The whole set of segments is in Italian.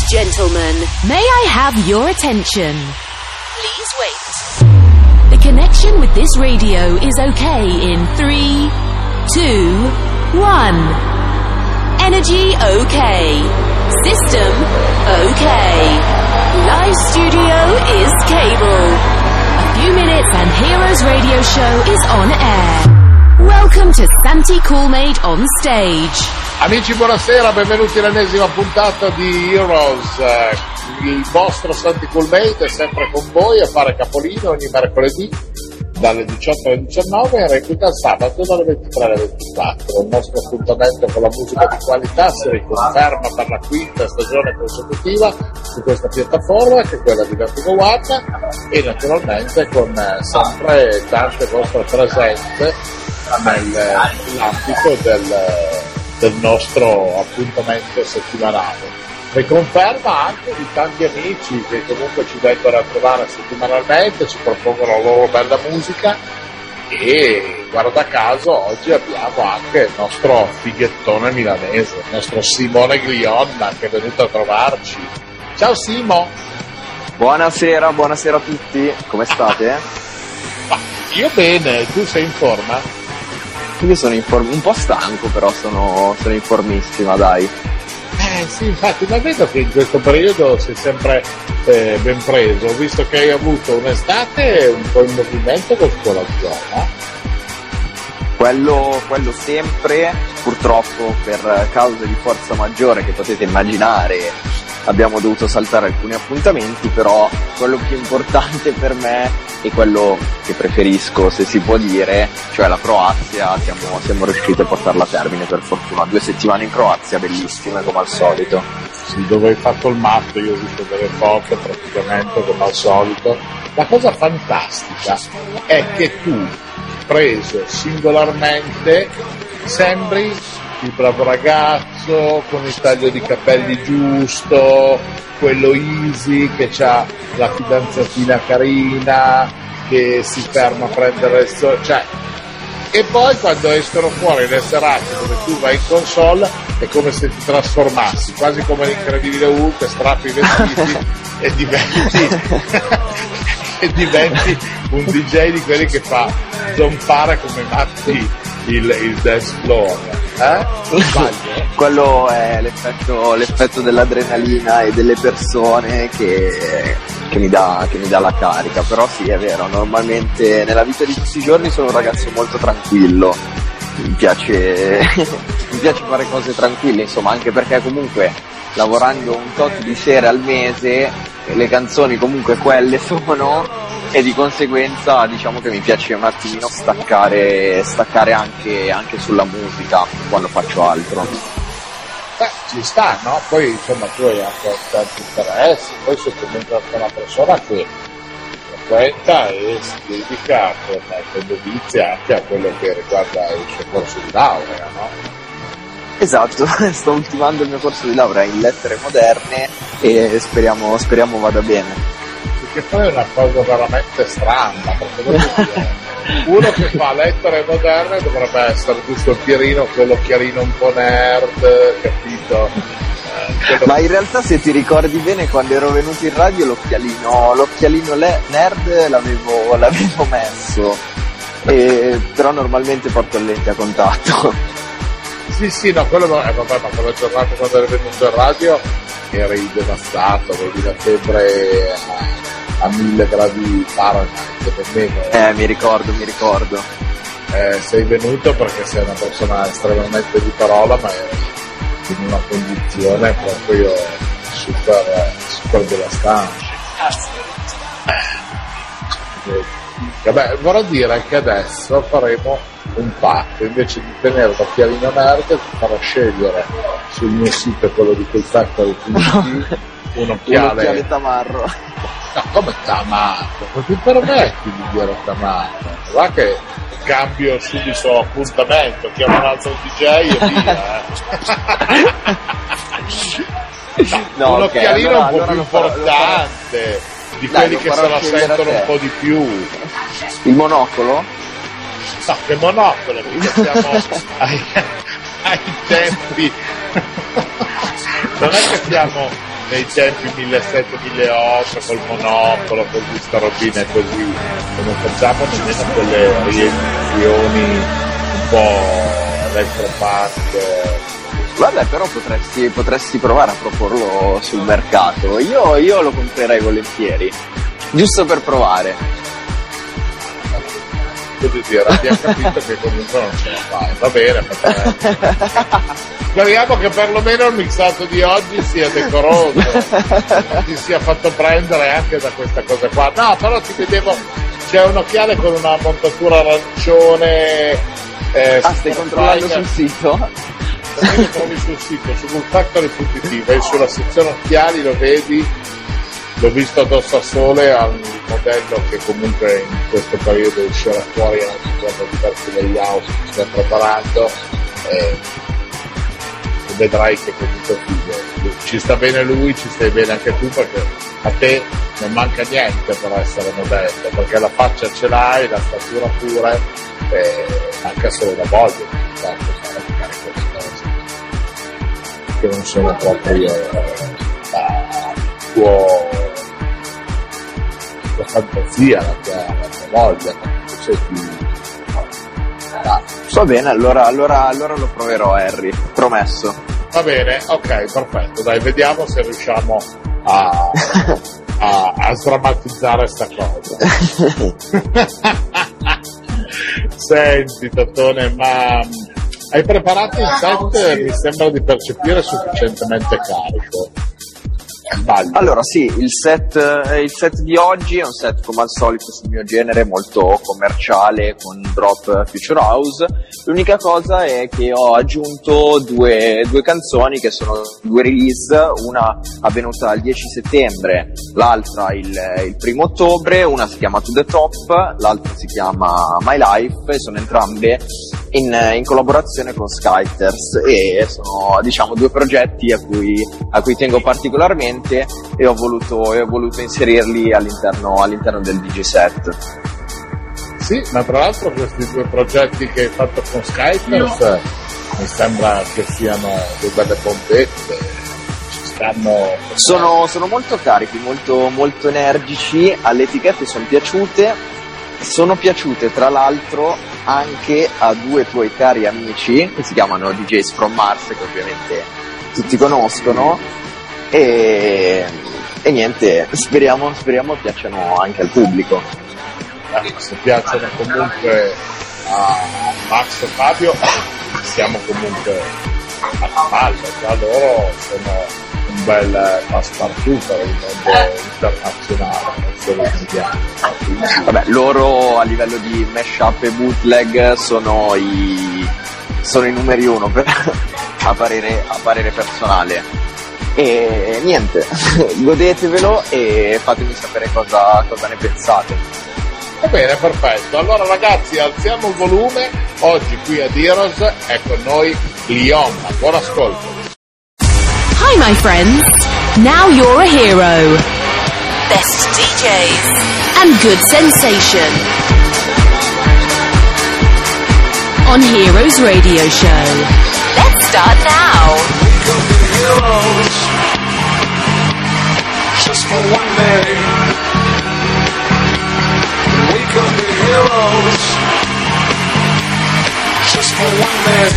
Gentlemen, may I have your attention? Please wait. The connection with this radio is okay in 3, 2, 1. Energy okay. System okay. Live studio is cable. A few minutes and Heroes Radio Show is on air. Welcome to Santi Coolmade on stage. Amici, buonasera, benvenuti all'ennesima puntata di Heroes. Il vostro Santi Coolmade è sempre con voi a fare capolino ogni mercoledì dalle 18 alle 19 e replica il sabato dalle 23 alle 24. Il nostro appuntamento con la musica di qualità si riconferma per la quinta stagione consecutiva su questa piattaforma, che è quella di Vertigo One, e naturalmente con sempre tante vostre presenze nell'ambito del nostro appuntamento settimanale. Riconferma anche di tanti amici che comunque ci vengono a trovare settimanalmente, ci propongono la loro bella musica, e guarda caso oggi abbiamo anche il nostro fighettone milanese, il nostro Simone Glionna, che è venuto a trovarci. Ciao Simo! Buonasera a tutti, come state? Io bene, tu sei in forma? Io sono un po' stanco, però sono informissima, dai. Sì, infatti, ma vedo che in questo periodo sei sempre ben preso. Ho visto che hai avuto un'estate un po' in movimento con la zona. Quello sempre, purtroppo per cause di forza maggiore che potete immaginare abbiamo dovuto saltare alcuni appuntamenti, però quello più importante per me e quello che preferisco, se si può dire, cioè la Croazia, siamo riusciti a portarla a termine per fortuna. 2 settimane in Croazia, bellissime come al solito. Sì, dove hai fatto il matto, io ho visto delle foto praticamente come al solito. La cosa fantastica è che tu, preso singolarmente, sembri il bravo ragazzo con il taglio di capelli giusto, quello easy che ha la fidanzatina carina, che si ferma a prendere il sole, cioè, e poi quando escono fuori le serate dove tu vai in console è come se ti trasformassi, quasi come l'Incredibile Hulk, strappi i vestiti e diventi un DJ di quelli che fa zompare come matti il dance floor. Quello è l'effetto dell'adrenalina e delle persone che mi dà la carica. Però sì, è vero, normalmente nella vita di tutti i giorni sono un ragazzo molto tranquillo, mi piace fare cose tranquille, insomma, anche perché comunque lavorando un tot di sere al mese le canzoni comunque quelle sono, e di conseguenza diciamo che mi piace un attimino staccare anche sulla musica quando faccio altro. Ci sta, no? Poi insomma tu hai anche tanti interessi, poi sei comunque anche una persona che frequenta e si dedica con dovizia anche a quello che riguarda il suo corso di laurea, no? Esatto, sto ultimando il mio corso di laurea in lettere moderne e speriamo vada bene. Che poi è una cosa veramente strana, perché uno che fa lettere moderne dovrebbe essere giusto il Pierino, quell'occhialino un po' nerd, capito? Ma in realtà, se ti ricordi bene, quando ero venuto in radio l'occhialino nerd l'avevo messo, però normalmente porto lenti a contatto. Sì, no, quello vabbè, ma quella giornata quando eri venuto in radio eri devastato, avevi la febbre a 1000 gradi Fahrenheit nemmeno. Mi ricordo. Sei venuto perché sei una persona estremamente di parola, ma eri in una condizione proprio super devastante. Vabbè, vorrei dire che adesso faremo un patto: invece di tenere l'occhialino nerd ti farò scegliere sul mio sito, quello di quel Factory TV, un occhiale tamarro. No, come tamarro? Non ti permetti di dire tamarro? Va che cambio subito appuntamento, chiamo un altro DJ e via. No, un occhialino un po' più importante, di quelli che se la sentono un po' di più. Il monocolo? No, che monocolo, perché siamo ai tempi. Non è che siamo nei tempi 1700-1800 col monopolo, con questa robina e così, non facciamo nemmeno quelle riedizioni un po' electropark. Vabbè, però potresti provare a proporlo sul mercato. Io lo comprerei volentieri, giusto per provare. Devo dire, abbiamo capito che comunque non ce la fai, va bene, speriamo che perlomeno il mixato di oggi sia decoroso, ti sia fatto prendere anche da questa cosa qua. No, però ti vedevo, c'è un occhiale con una montatura arancione. Stai controllando sul sito? Lo trovi sul sito, su Factory.it, vai sulla sezione occhiali, lo vedi. L'ho visto addosso a sole al modello che comunque in questo periodo uscirà fuori anche con diversi layout che si sta preparando, e vedrai che comunque ci sta bene lui, ci stai bene anche tu, perché a te non manca niente per essere modello, perché la faccia ce l'hai, la statura pure, e anche solo la voglia di fare magari queste cose che non sono proprio la fantasia, la tua voglia, sei più. Va bene, allora lo proverò, Harry, promesso. Va bene, ok, perfetto, dai, vediamo se riusciamo a sdrammatizzare sta cosa. Senti, Totone, ma hai preparato il set? Mi sembra di percepire sufficientemente carico. Allora sì, il set di oggi è un set come al solito sul mio genere, molto commerciale, con drop Future House. L'unica cosa è che ho aggiunto due canzoni che sono due release, una avvenuta il 10 settembre, l'altra il 1 ottobre, una si chiama To The Top, l'altra si chiama My Life, e sono entrambe in collaborazione con Skyters, e sono, diciamo, due progetti a cui tengo particolarmente, e ho voluto inserirli all'interno del DJ set. Sì, ma tra l'altro questi due progetti che hai fatto con Skyters mi sembra che siano due belle bombette, ci stanno. Sono molto carichi, molto, molto energici, alle etichette sono piaciute tra l'altro anche a due tuoi cari amici che si chiamano DJs from Mars, che ovviamente tutti conoscono. E niente, speriamo piacciono anche al pubblico. Se piacciono comunque a Max e Fabio, siamo comunque a cavallo, già loro sono un bel passepartout per il mondo internazionale, non solo italiano. Vabbè, loro a livello di mashup e bootleg sono i numeri uno a parere personale. E niente, godetevelo e fatemi sapere cosa ne pensate. Va bene, perfetto. Allora ragazzi, alziamo il volume. Oggi qui a Heroes è con noi Leon. Buon ascolto. Hi my friends, now you're a hero. Best DJs and good sensation on Heroes Radio Show. Let's start now. Heroes, just for one day. We could be heroes, just for one day.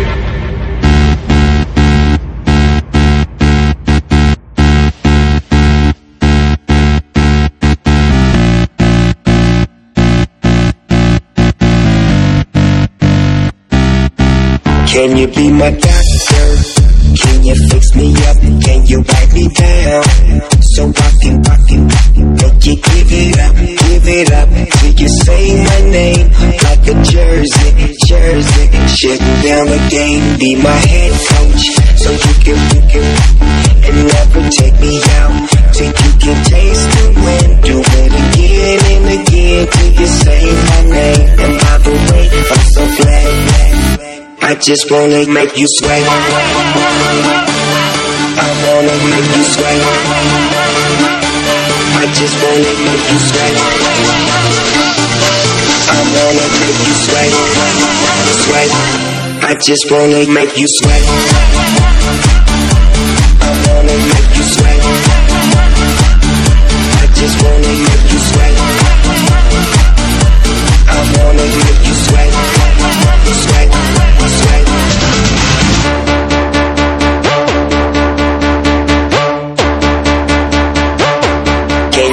Can you be my doctor? Can you fix me up? Can you write me down? So I can make you give it up till you say my name like a jersey, shutting down the game. Be my head coach, so you can and never take me out till you can taste the wind. Do it again and again till you say my name. And by the way, I'm so glad. I just wanna make you sweat. I wanna make you sweat. I just wanna make you sweat. I wanna make you sweat. Sweat. I just wanna make you sweat. I wanna make you sweat.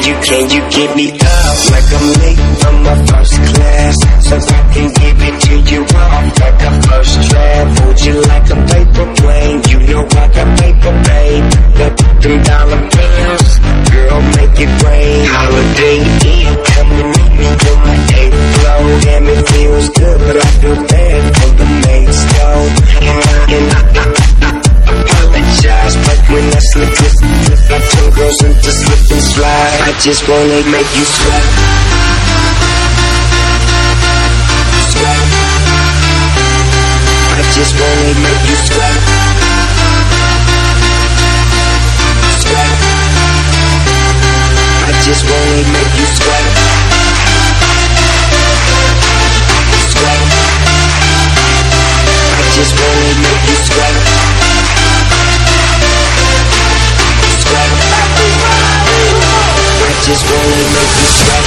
can you get me up like I'm late from my first class, so I can give it to you off like a first draft. Hold you like a paper plane, you know I got paper, babe. Got them dollar bills, girl, make it rain. Holiday Inn, come and meet me on my 8th floor. Damn, it feels good, but I feel bad for the mates, though. And I apologize, but when I slip, I turn girls into slip and slide. I just wanna make you sweat. Sweat. I just wanna make you sweat. Sweat. I just wanna make you sweat. Sweat. I just wanna make you sweat. Sweat. I just wanna make you sweat.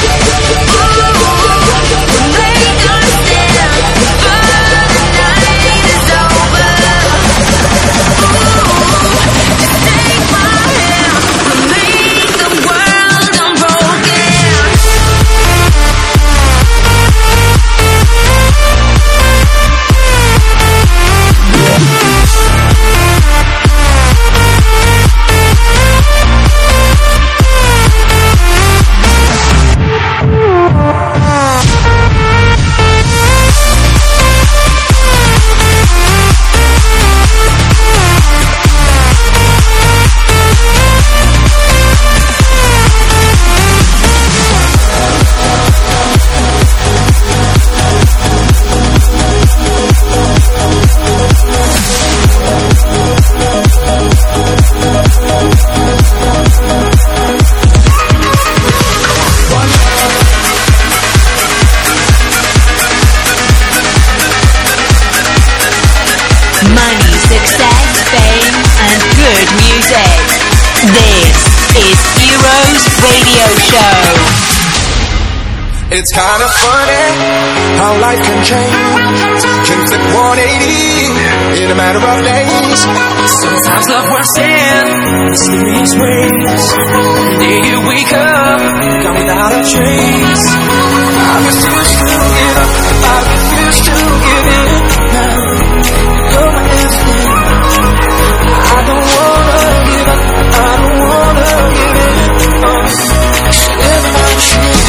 It's kind of funny how life can change, can flip 180 in a matter of days. Sometimes love works in mysterious ways. The day you wake up, gone without a trace. I refuse to give up, I refuse to give in. Now, you're my everything. I don't wanna give up, I don't wanna give in. Should never should.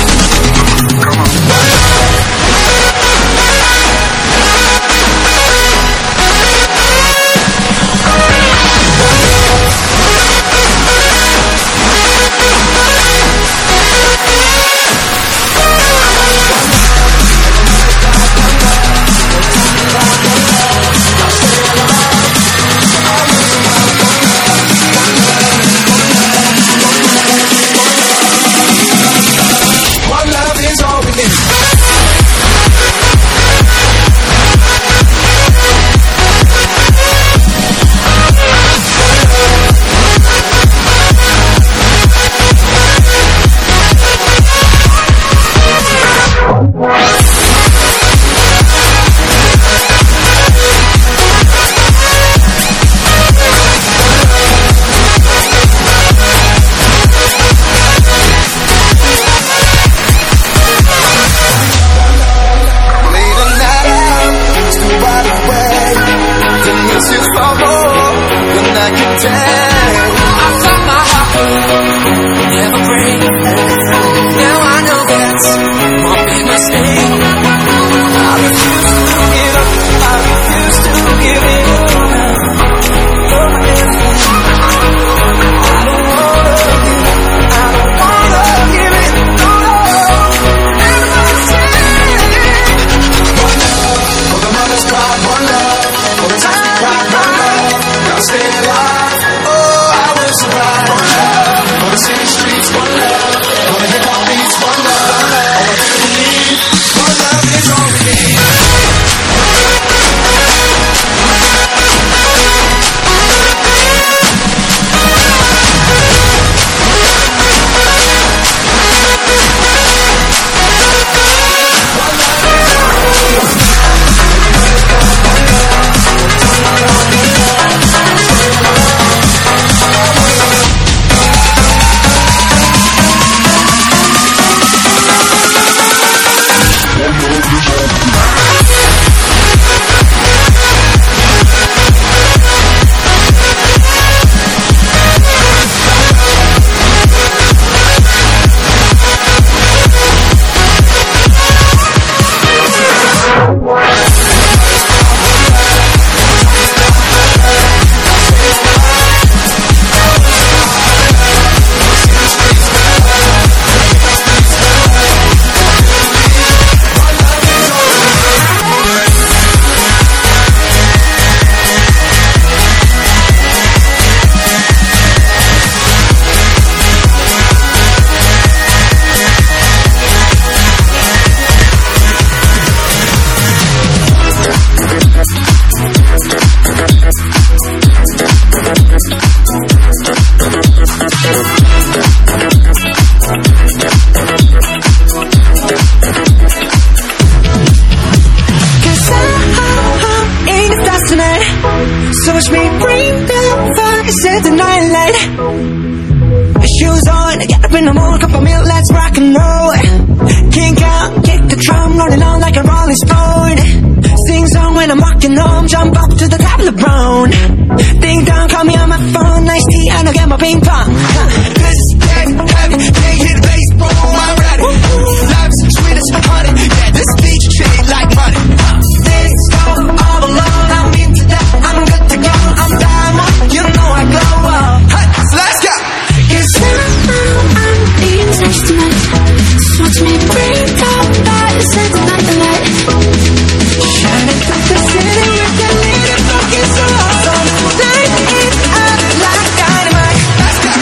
daylight. Shoes on, get up in the morning, cup of milk, let's rock and roll. Kink out, kick the drum, rolling on like a rolling stone. Sing song when I'm walking home, jump up to the top of the brown. Ding dong, call me on my phone, nice tea, and I'll get my ping pong. This is dead heavy, they hit bass, boom, I'm ready. Life's sweet as honey, yeah, this beach treat like money. This go all alone, I'm into that, I'm good to go, I'm diamond, you know I glow up. Hey, so let's go. Cause now I'm being touched tonight. Just watch me bring out that second night the light. Shining through the city with the little focus so awesome. Light it up like dynamite. Let's go.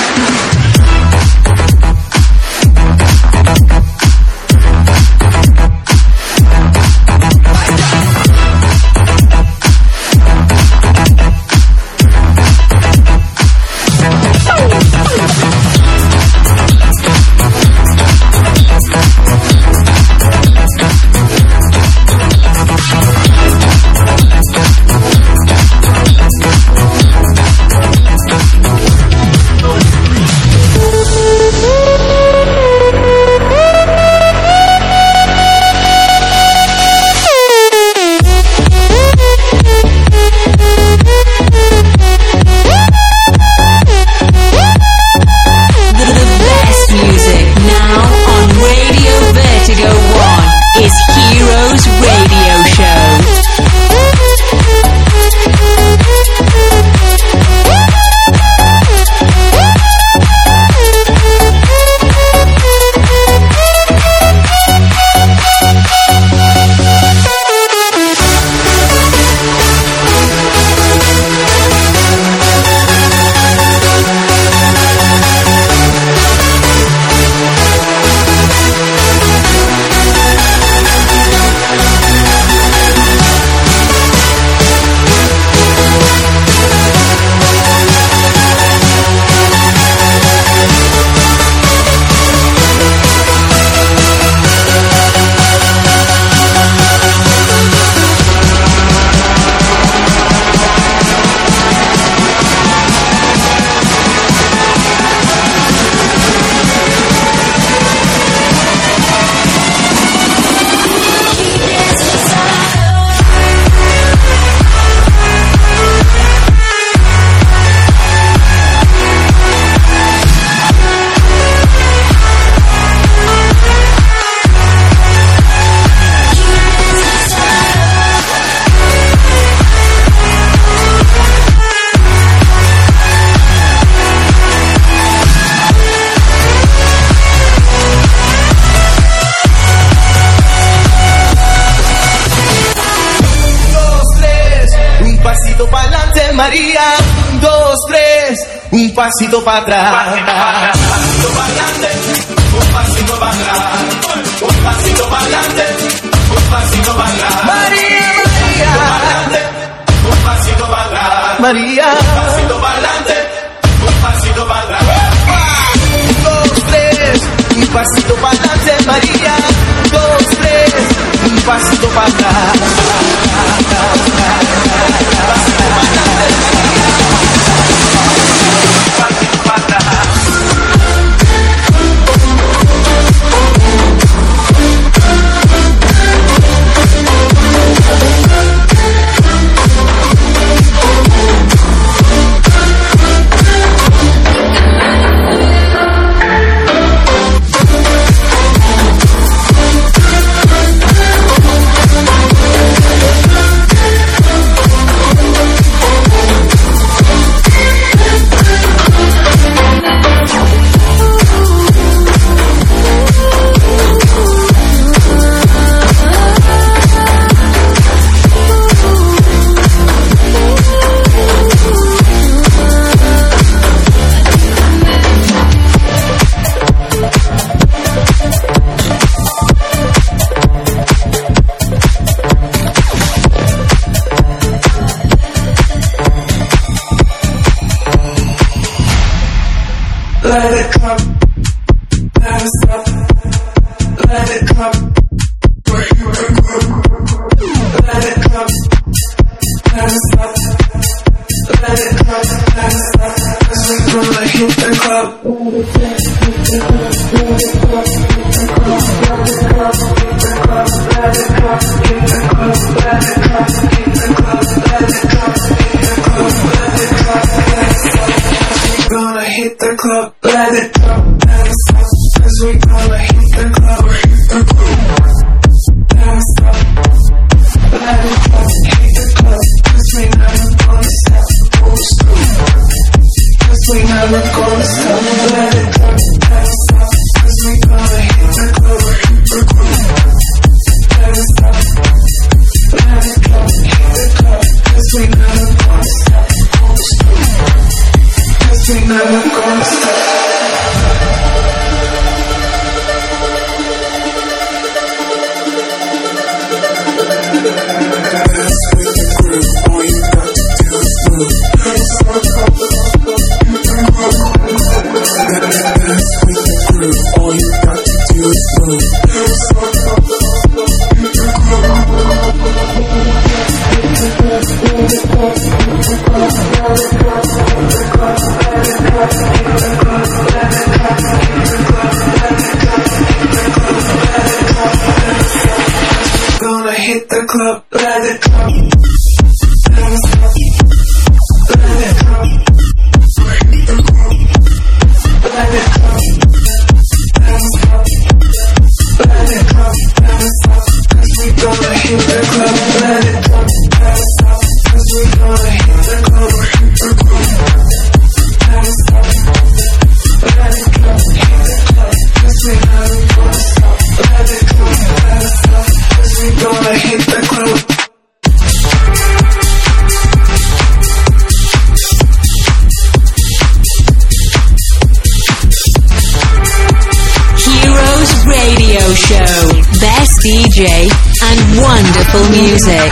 Un pasito para atrás, un pasito para adelante, un pasito para atrás, un pasito para adelante, un pasito para atrás. María, María, un pasito para atrás. María, un pasito para adelante, un pasito para atrás. 1, 2, 3, un pasito para adelante, María. 2, 3, un pasito para atrás. Let it come, never stop. Let it come, where you can go. Let it come, never stop. Let it come, never stop. As we grow. hit the club. Gonna hit the club, let it drop, let it stop, 'cause we gonna hit the club, let it stop, let it drop, hit the club, 'cause we never gonna stop, 'cause we never gonna stop, let it drop, let it stop, 'cause we gonna hit the club, let it stop, let it drop, hit the club, 'cause we never gonna stop, 'cause we never gonna stop. Gonna hit the club, let it drop, let it stop, let it drop, let it drop, let it stop, let it drop, let it stop, 'cause we gonna hit the club, let it drop, let it stop, 'cause we gonna hit the club, let it stop, let it drop, hit the club, 'cause we never gonna stop, let it drop, let it stop, 'cause we gonna hit the club. Heroes Radio Show. Best DJ and wonderful music.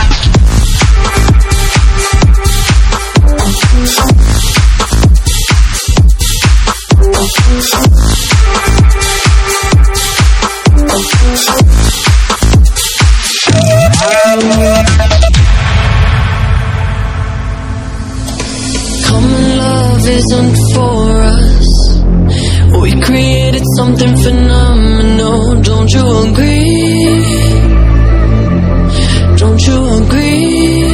Common love isn't for us. We created something phenomenal. Don't you agree? Don't you agree?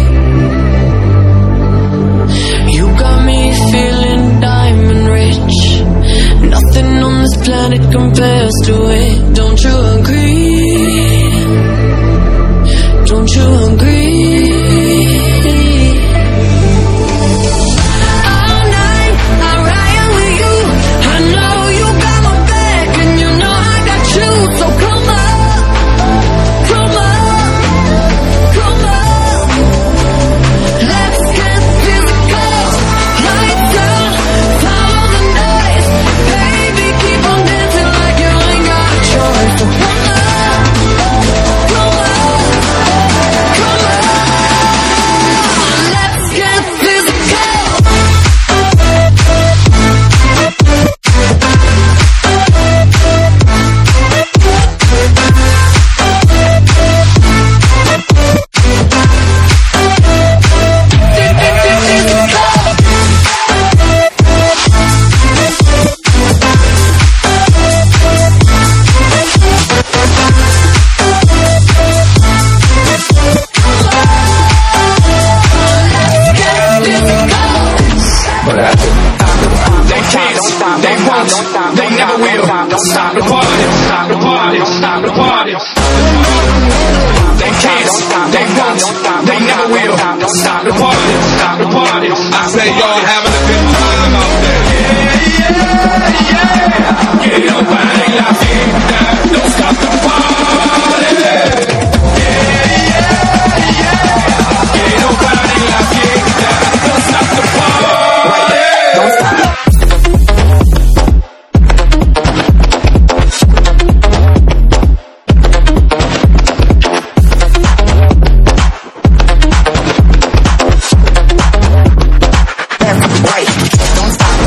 You got me feeling diamond rich. Nothing on this planet compares to it. Don't you agree? Don't you agree? Don't stop.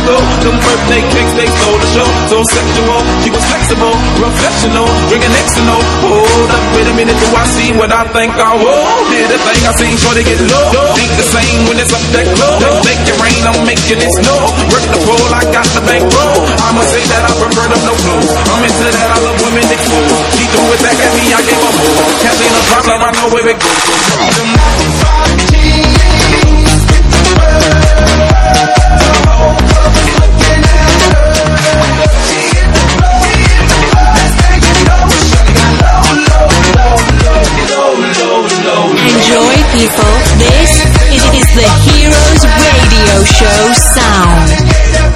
go. Them birthday cakes, they stole the show. So sexual, she was flexible, professional, drinking Xanol. Hold up, wait a minute, do I see what I think I will? Did a thing I seen, sure they get low. Ain't the same when it's up that close. Make it rain, I'm making it snow. Work the pole, I got the bankroll. I'ma say that I prefer them no clothes. I'm into that, I love women exposed. She threw it back at me, I gave her more. Can't see no problem, I know where it goes. Enjoy, people. This is the Heroes Radio Show sound.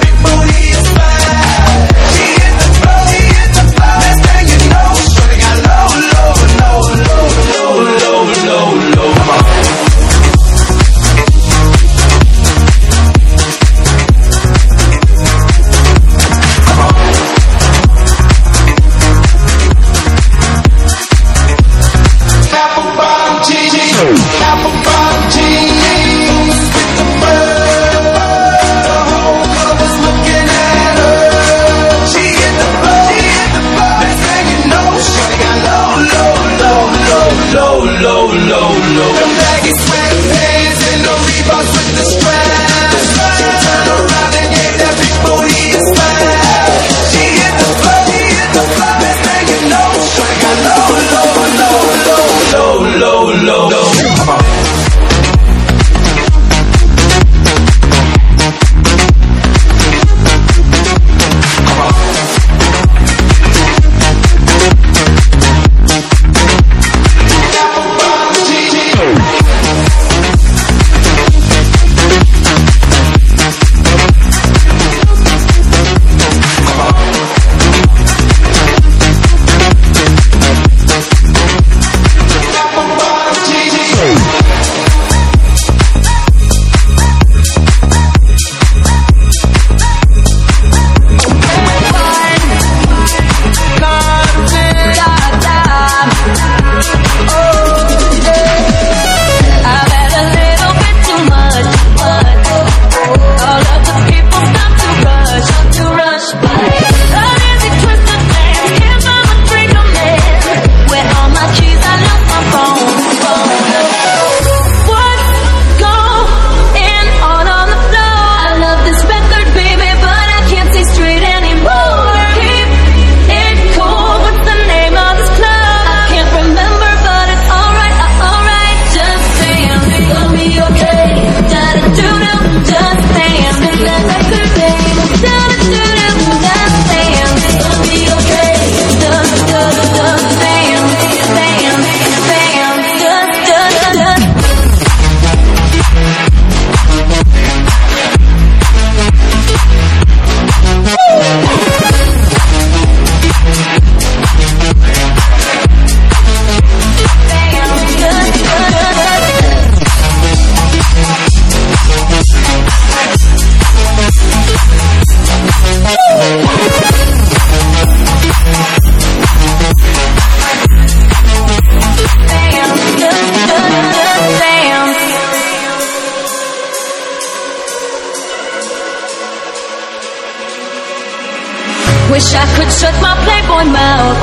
Wish I could shut my Playboy mouth.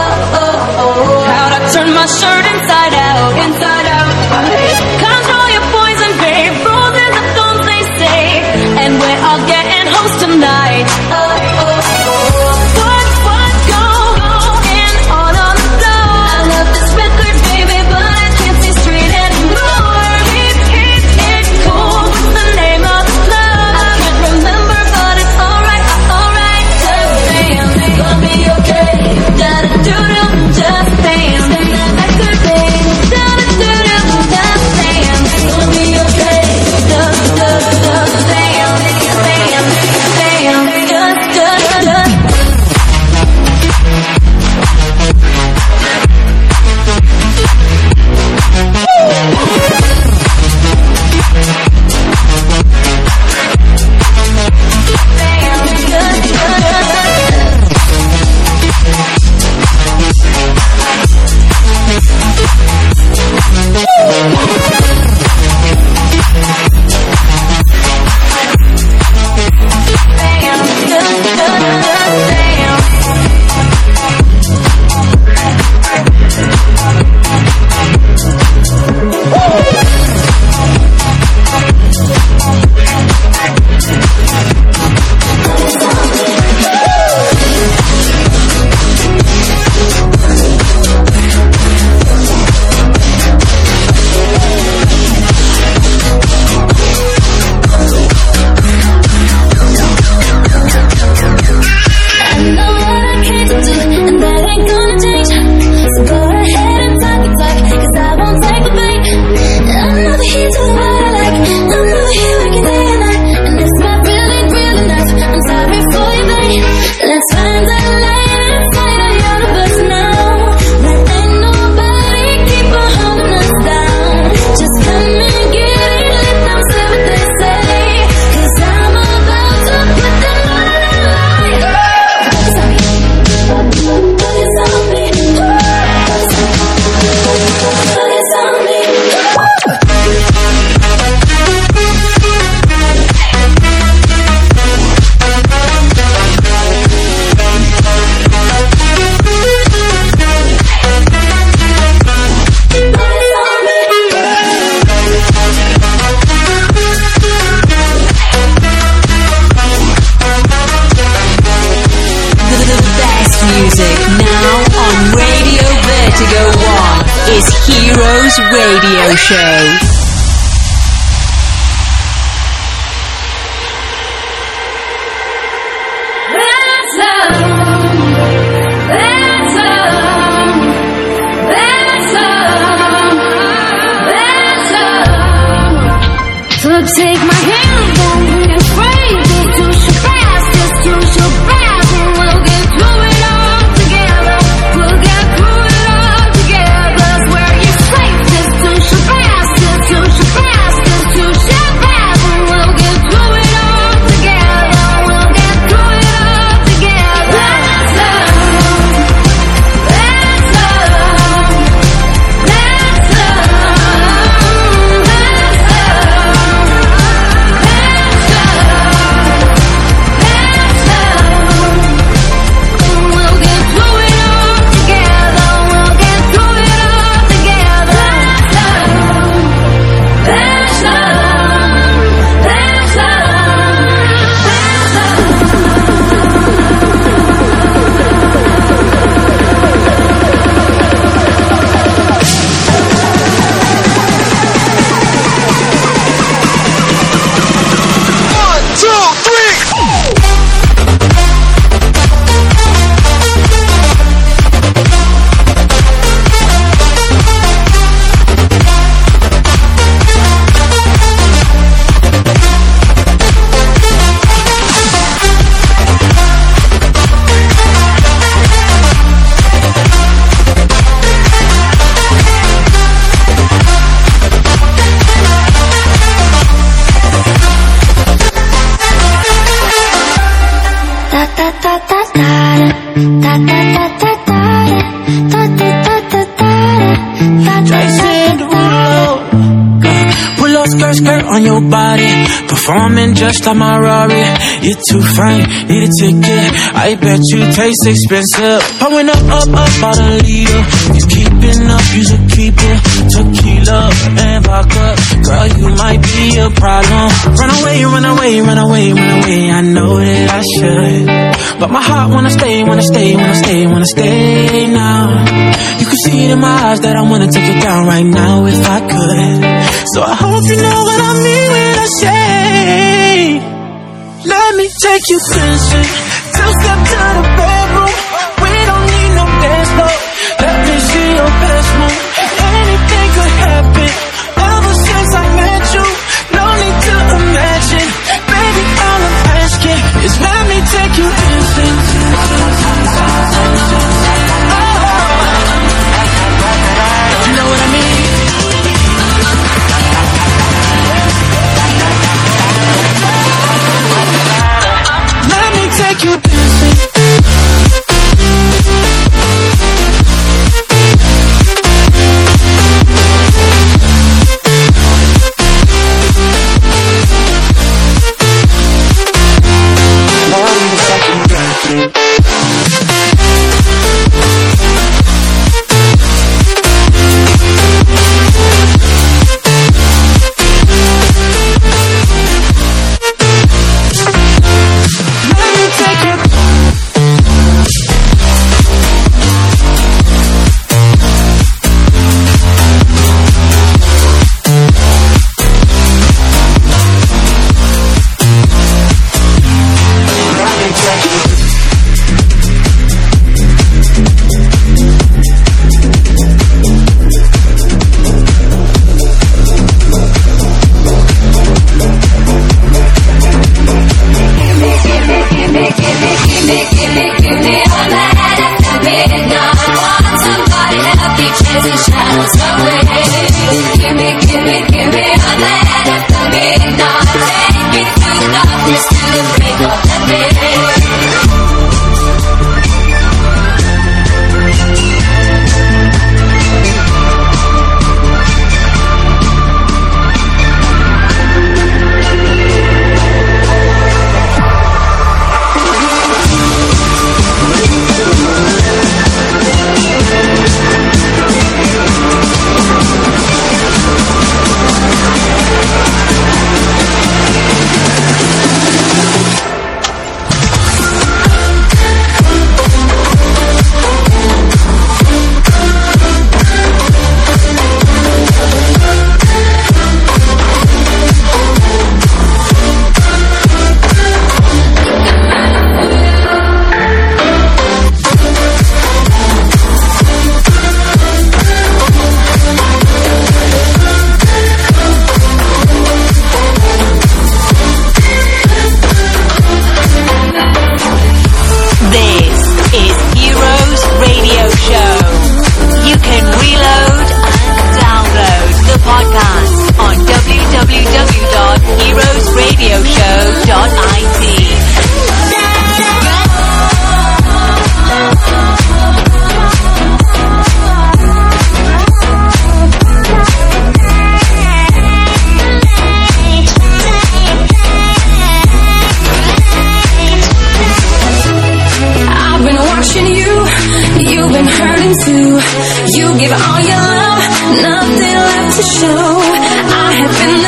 How'd I turn my shirt inside out, inside out? Control your poison, babe. Rules in the thorns, they say. And we're all getting host tonight. What going on the floor? I love this record, baby, but I can't see straight anymore. It's cool. What's the name of the club? I can't remember, but it's alright, alright. Just damn, it's gonna be okay. Da-da-doo-doo, just damn. That record, babe. Da-da-doo-doo. Show. So take my hand, don't be afraid. Just do your best, just do your best, and we'll get through it all together. We'll get through it all together. Where you're safe, just do your best, just do your best, just do your best, and we'll get through it all together. We'll get through it all together. Let's love, let's love, let's love, let's love. Skirt on your body, performing just like my Rari. You're too fine, need a ticket. I bet you taste expensive. Pouring up about a liter. He's keeping up, you should keep it. Tequila and vodka, girl, you might be a problem. Run away, run away, run away, run away. I know that I should, but my heart wanna stay, wanna stay, wanna stay, wanna stay now. You can see it in my eyes that I wanna take it down right now if I could. So I hope you know what I mean when I say, let me take you dancing. Two-step to the bedroom. We don't need no dance floor. Let me see your best move. Anything could happen. Ever since I met you, no need to imagine. Baby, all I'm asking is let me take you dancing. You know what I mean? Take you dancing.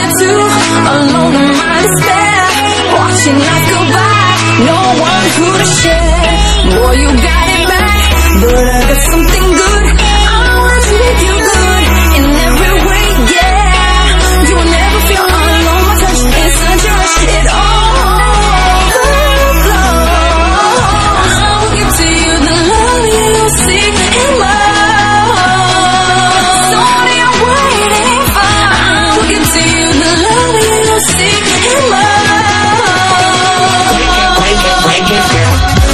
too alone in my despair, watching life go by, no one who to share. Boy, you got it back, but I got something good. I wanna treat you good in every way, yeah. You will never feel alone. My touch is such a rush, it all flows. I will give to you the love you seek in love. So what are you waiting for? I will give to you the love you seek in love. Break it, girl.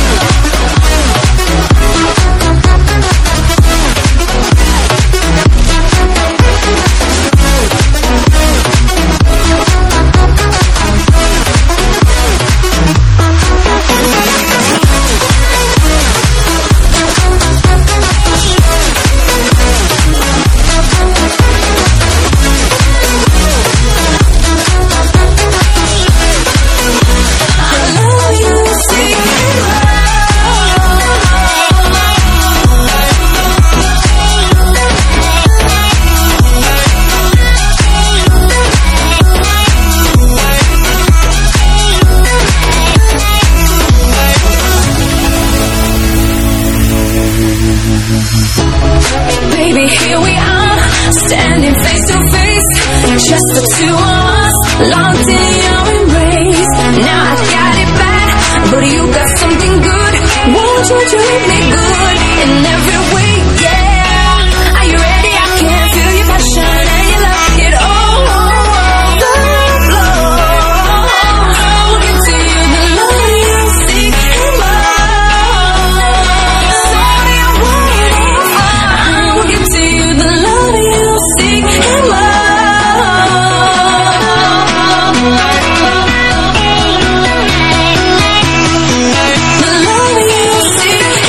Baby, here we are, standing face to face, just the two of us, locked in your embrace. Now I got it bad, but you got something good. Won't you treat me good in every way, yeah? Are you ready? I can feel your passion and your love, it all overflows. I will give to you the love you seek in love. So what are you waiting for? I will give to you the love you seek in love. The love you seek in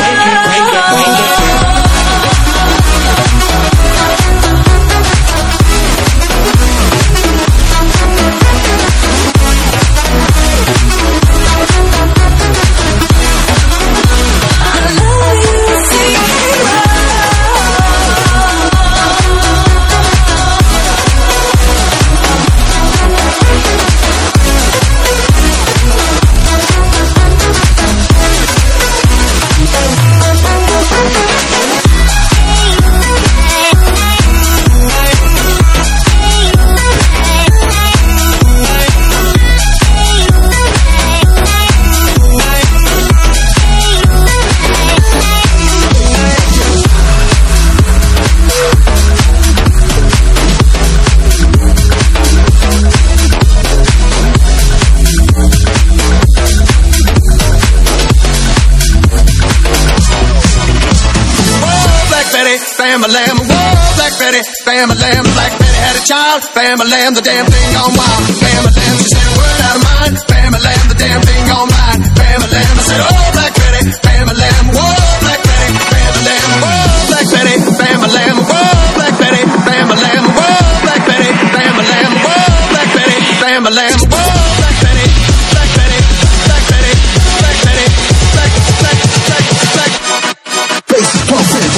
Bam-a-lam, whoa, Black Betty, Bam-a-lam, Black Betty had a child, Bam-a-lam, the damn thing gone wild, Bam-a-lam, she said a word out of mine, Bam-a-lam, the damn thing gone mine, Bam-a-lam, I said, oh, Black Betty, Bam-a-lam, whoa, Black Betty, Bam-a-lam, whoa, Black Betty, Bam-a-lam, whoa, Black Betty, Bam-a-lam, whoa, Black Betty, Bam-a-lam, whoa, Black Betty, Bam-a-lam, whoa, Black Betty, Black Betty, Black Betty, Black Betty, Black, Black, Black, Black, bass is pumping.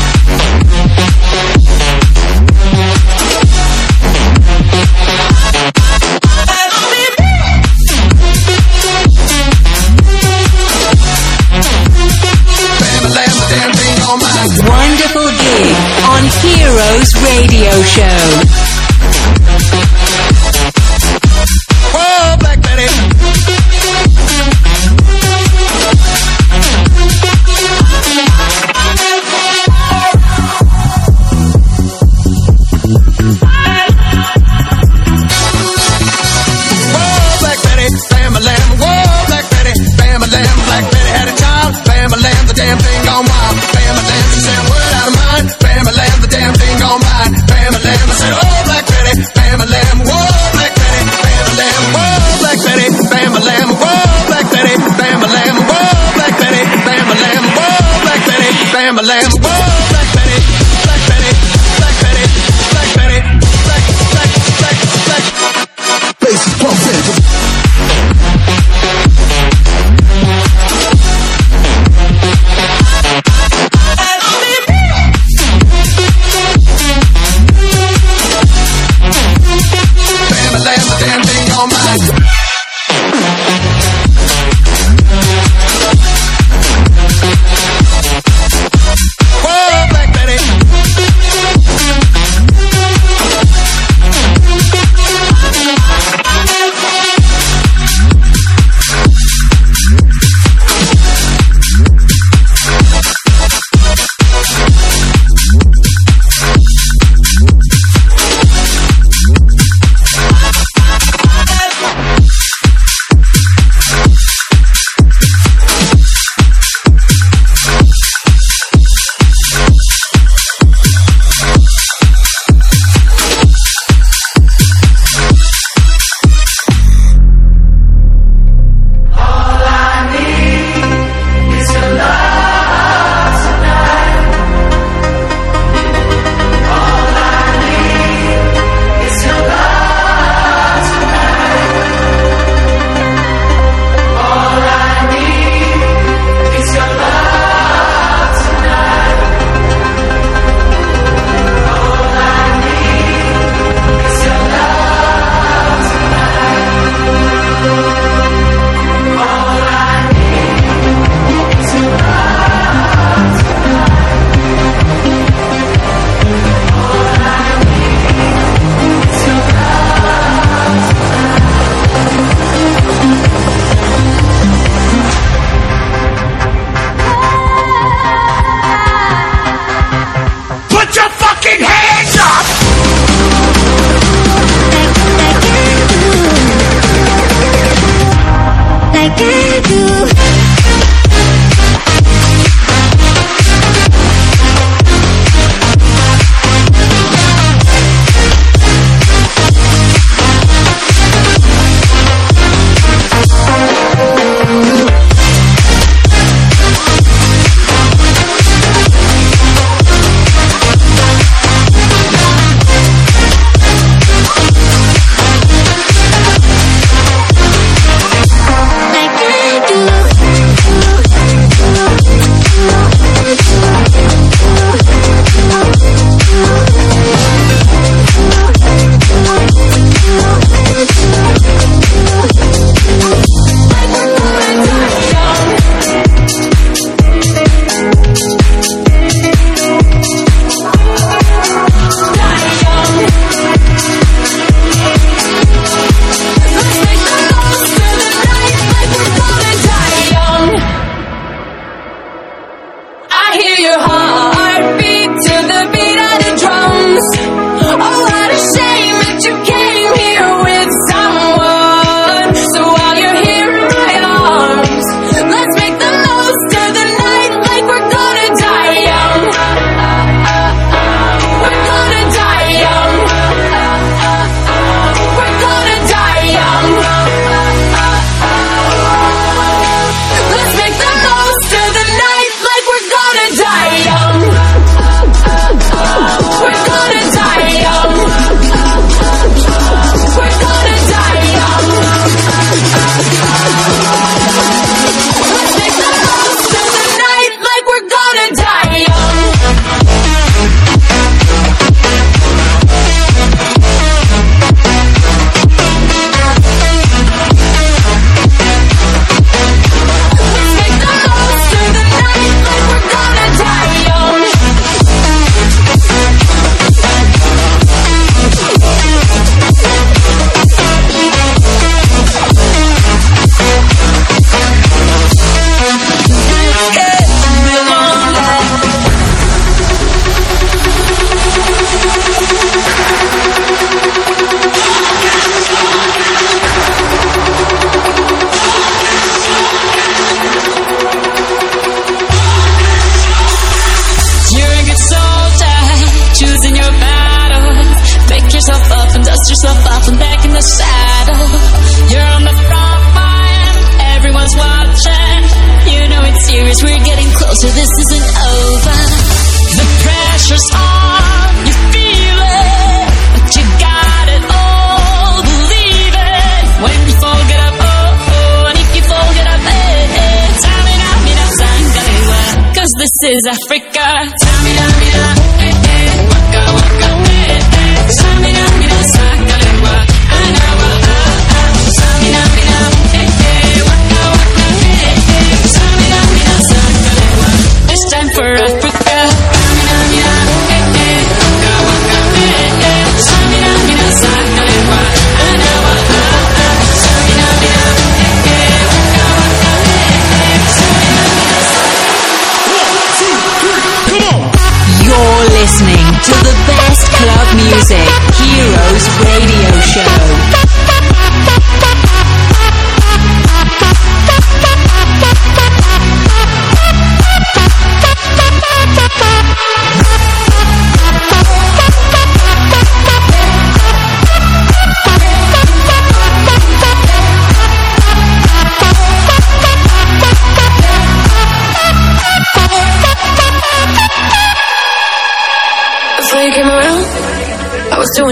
Wonderful gig on Heroes Radio Show. Whoa, Black Betty. Whoa, Black Betty, Bam-a-lam. Whoa, Black Betty, Bam-a-lam. Black Betty had a child, Bam-a-lam, the damn thing gone wild. Bam-a-lam, she said a word out of mine, Bam-a-lam, the damn thing gone mine. Bam-a-lam, I said, oh, Black Betty, Bam-a-lam. Whoa, Black Betty, Bam-a-lam. Whoa, Black Betty, Bam-a-lam. Whoa, Black Betty, Bam-a-lam. Whoa, Black Betty, Bam-a-lam. Whoa, Black Betty, Bam-a-lam. Whoa, Black Betty, Black Betty, Black Betty, Black Betty, Black, Black, Black, Black. Bass is pumping. last damn thing on mine. Whoa, Black Betty. so this isn't over. The pressure's on, you feel it, but you got it all, believe it. When you fall, get up, oh, oh, and if you fall, get up, eh, eh. Tamina, mina, sangalewa, 'cause this is Africa. Tamina, mina, eh, eh, waka, waka, eh, eh. Tamina, mina, sangalewa, and I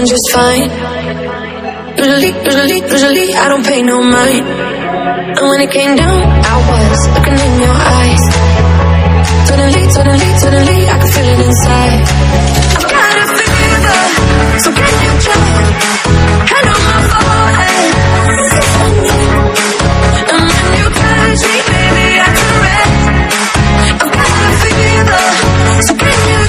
doing just fine. Usually I don't pay no mind. And when it came down, I was looking in your eyes. Suddenly I could feel it inside. I've got a fever, so can you check? I know my fault. And when you touch me, baby, I can rest. I've got a fever, so can you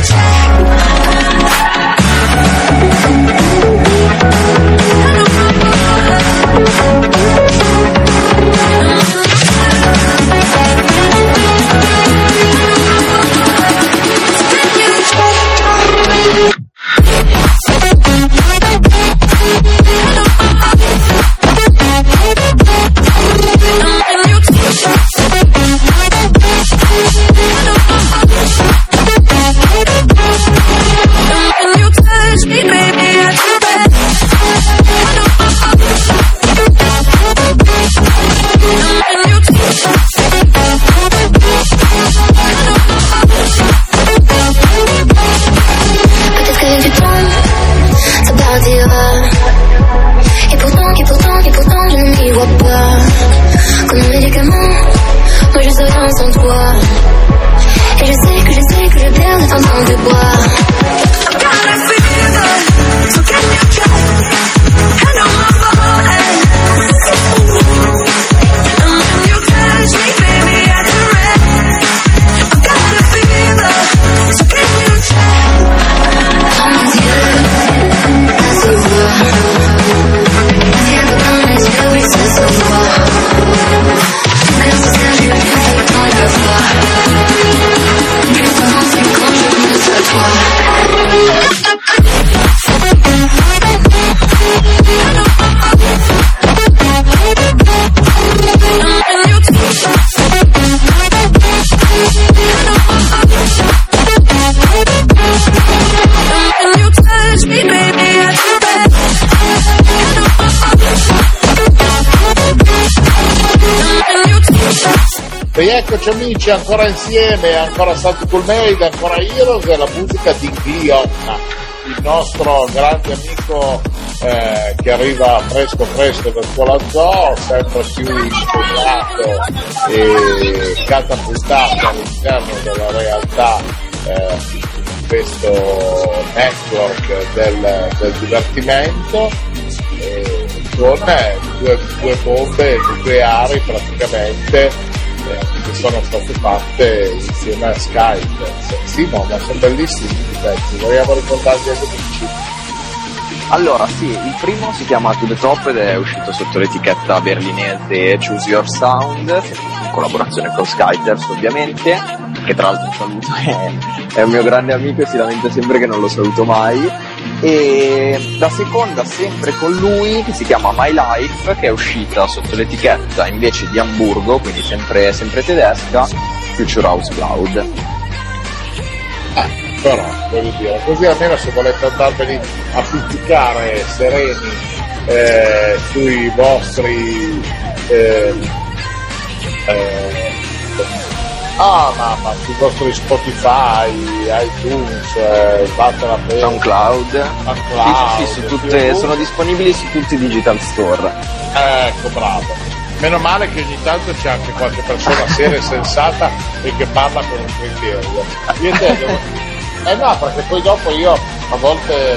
Eccoci amici, ancora insieme, ancora stati col Made, ancora Heroes e la musica di Glion, il nostro grande amico che arriva fresco da scuola zoo, sempre più impegnato e catapultato all'interno della realtà di questo network del divertimento, con due bombe nucleari praticamente che sono state fatte insieme a Skype. Sì, ma sono bellissimi i pezzi, vogliamo ricordarli agli amici. Allora sì, il primo si chiama To The Top ed è uscito sotto l'etichetta berlinese Choose Your Sound, in collaborazione con Skyters ovviamente, che tra l'altro saluto, è un mio grande amico e si lamenta sempre che non lo saluto mai. E la seconda sempre con lui, che si chiama My Life, che è uscita sotto l'etichetta invece di Amburgo, quindi sempre tedesca, Future House Cloud. Però voglio dire, così almeno se volete andarveli a ficcare sereni sui vostri sui vostri Spotify, iTunes, SoundCloud. Sì, su tutte, sono disponibili su tutti i digital store. Ecco, bravo. Meno male che ogni tanto c'è anche qualche persona seria e sensata e che parla con un criterio. Io devo... no, perché poi dopo io a volte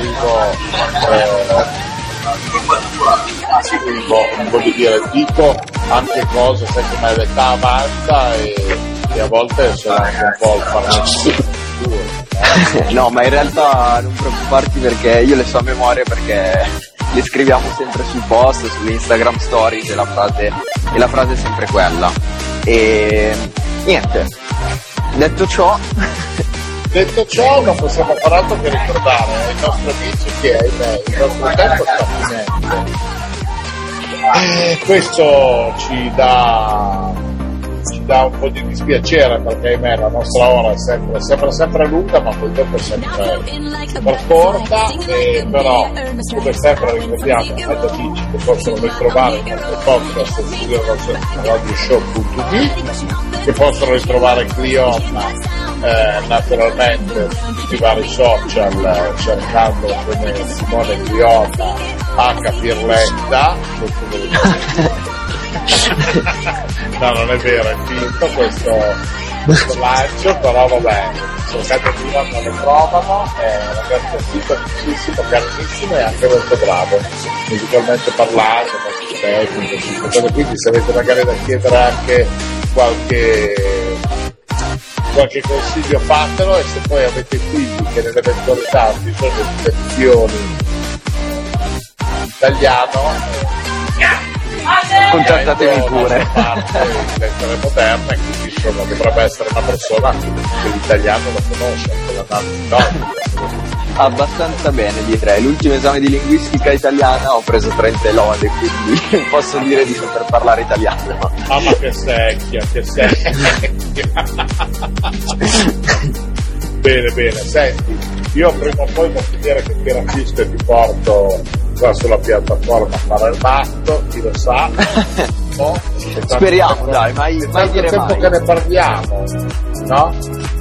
voglio dire, dico anche cose, sai come l'età avanza e a volte sono anche un po' il farmacista. No, ma in realtà non preoccuparti, perché io le so a memoria, perché le scriviamo sempre sui post, sulle Instagram stories, e la frase è sempre quella. E niente, detto ciò non possiamo far altro che ricordare ai nostri amici che il nostro tempo sta finendo. Questo ci dà dà un po' di dispiacere perché ahimè la nostra ora sembra sempre lunga, ma poi dopo è sempre corta, però come sempre ricordiamo agli amici che possono ritrovare il nostro podcast su radioshow.it, che possono ritrovare Cliona naturalmente su tutti i vari social cercando come Simone Cliona H Pirletta. No, non è vero, è finto questo lancio, però vabbè, cercate di non lo trovano, è un ragazzo simpaticissimo, carinissimo e anche molto bravo musicalmente parlando, molto tecnico, quindi se avete magari da chiedere anche qualche consiglio fatelo, e se poi avete figli che nell'eventualità hanno bisogno di lezioni in italiano, contattatemi pure. In lettere moderne, quindi insomma dovrebbe essere una persona che l'italiano lo conosce, che l'ha dato abbastanza bene, direi. L'ultimo esame di linguistica italiana ho preso 30 lode, quindi posso dire di saper parlare italiano. Mamma che secchia. Bene, senti, io prima o poi devo dire che ti rapisco e ti porto qua sulla piattaforma a fare il matto, chi lo sa, no? Speriamo, dai, mai dire tempo mai. Che ne parliamo, no?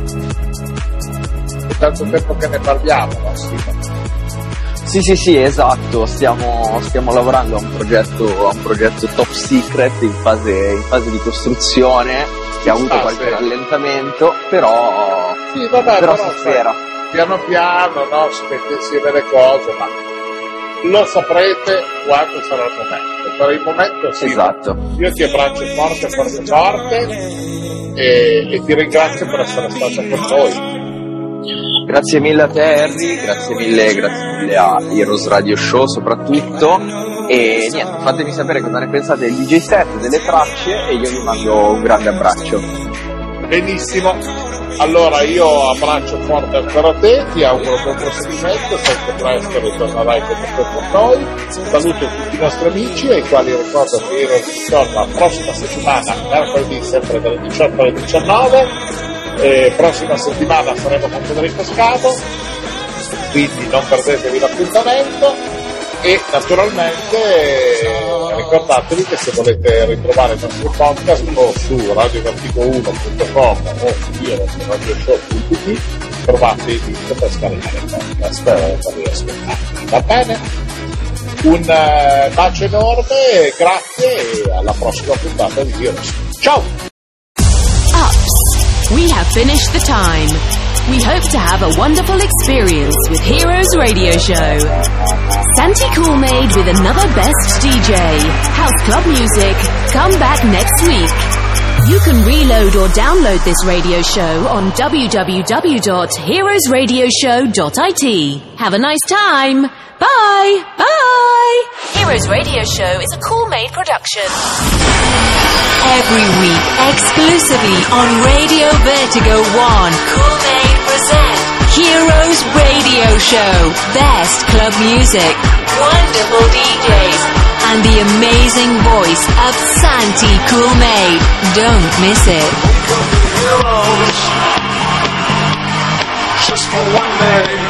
È tanto tempo che ne parliamo, no? Sì, esatto, stiamo lavorando a un progetto top secret in fase di costruzione, che ha avuto qualche rallentamento, però sì, vabbè, però si spera. Piano piano, no? Si mette insieme le cose, ma lo saprete quando sarà il momento. Per il momento sì. Esatto. Io ti abbraccio forte e ti ringrazio per essere stato con noi. Grazie mille a te Harry, grazie mille a Heroes Radio Show soprattutto, e niente, fatemi sapere cosa ne pensate del DJ set, delle tracce, e io vi mando un grande abbraccio. Benissimo, allora io abbraccio forte ancora te, ti auguro buon proseguimento, sempre presto ritornerai con noi, saluto tutti i nostri amici ai quali ricordo che Heroes torna la prossima settimana, mercoledì sempre dalle 18 alle 19. Prossima settimana saremo con Federico Scavo, quindi non perdetevi l'appuntamento, e naturalmente ricordatevi che se volete ritrovare il nostro podcast o su radiovertigo1.com o su radioshow.it trovate il link per scaricare il podcast per riascoltare. Va bene? Un bacio enorme, grazie e alla prossima puntata di Heroes. Ciao! We have finished the time. We hope to have a wonderful experience with Heroes Radio Show. Santi Coolmade with another best DJ. House Club Music. Come back next week. You can reload or download this radio show on www.heroesradioshow.it. Have a nice time. Bye. Bye. Heroes Radio Show is a Coolmade production. Every week, exclusively on Radio Vertigo 1, Coolmade presents Heroes Radio Show. Best club music, wonderful DJs, and the amazing voice of Santi Coolmade. Don't miss it. Just for one day.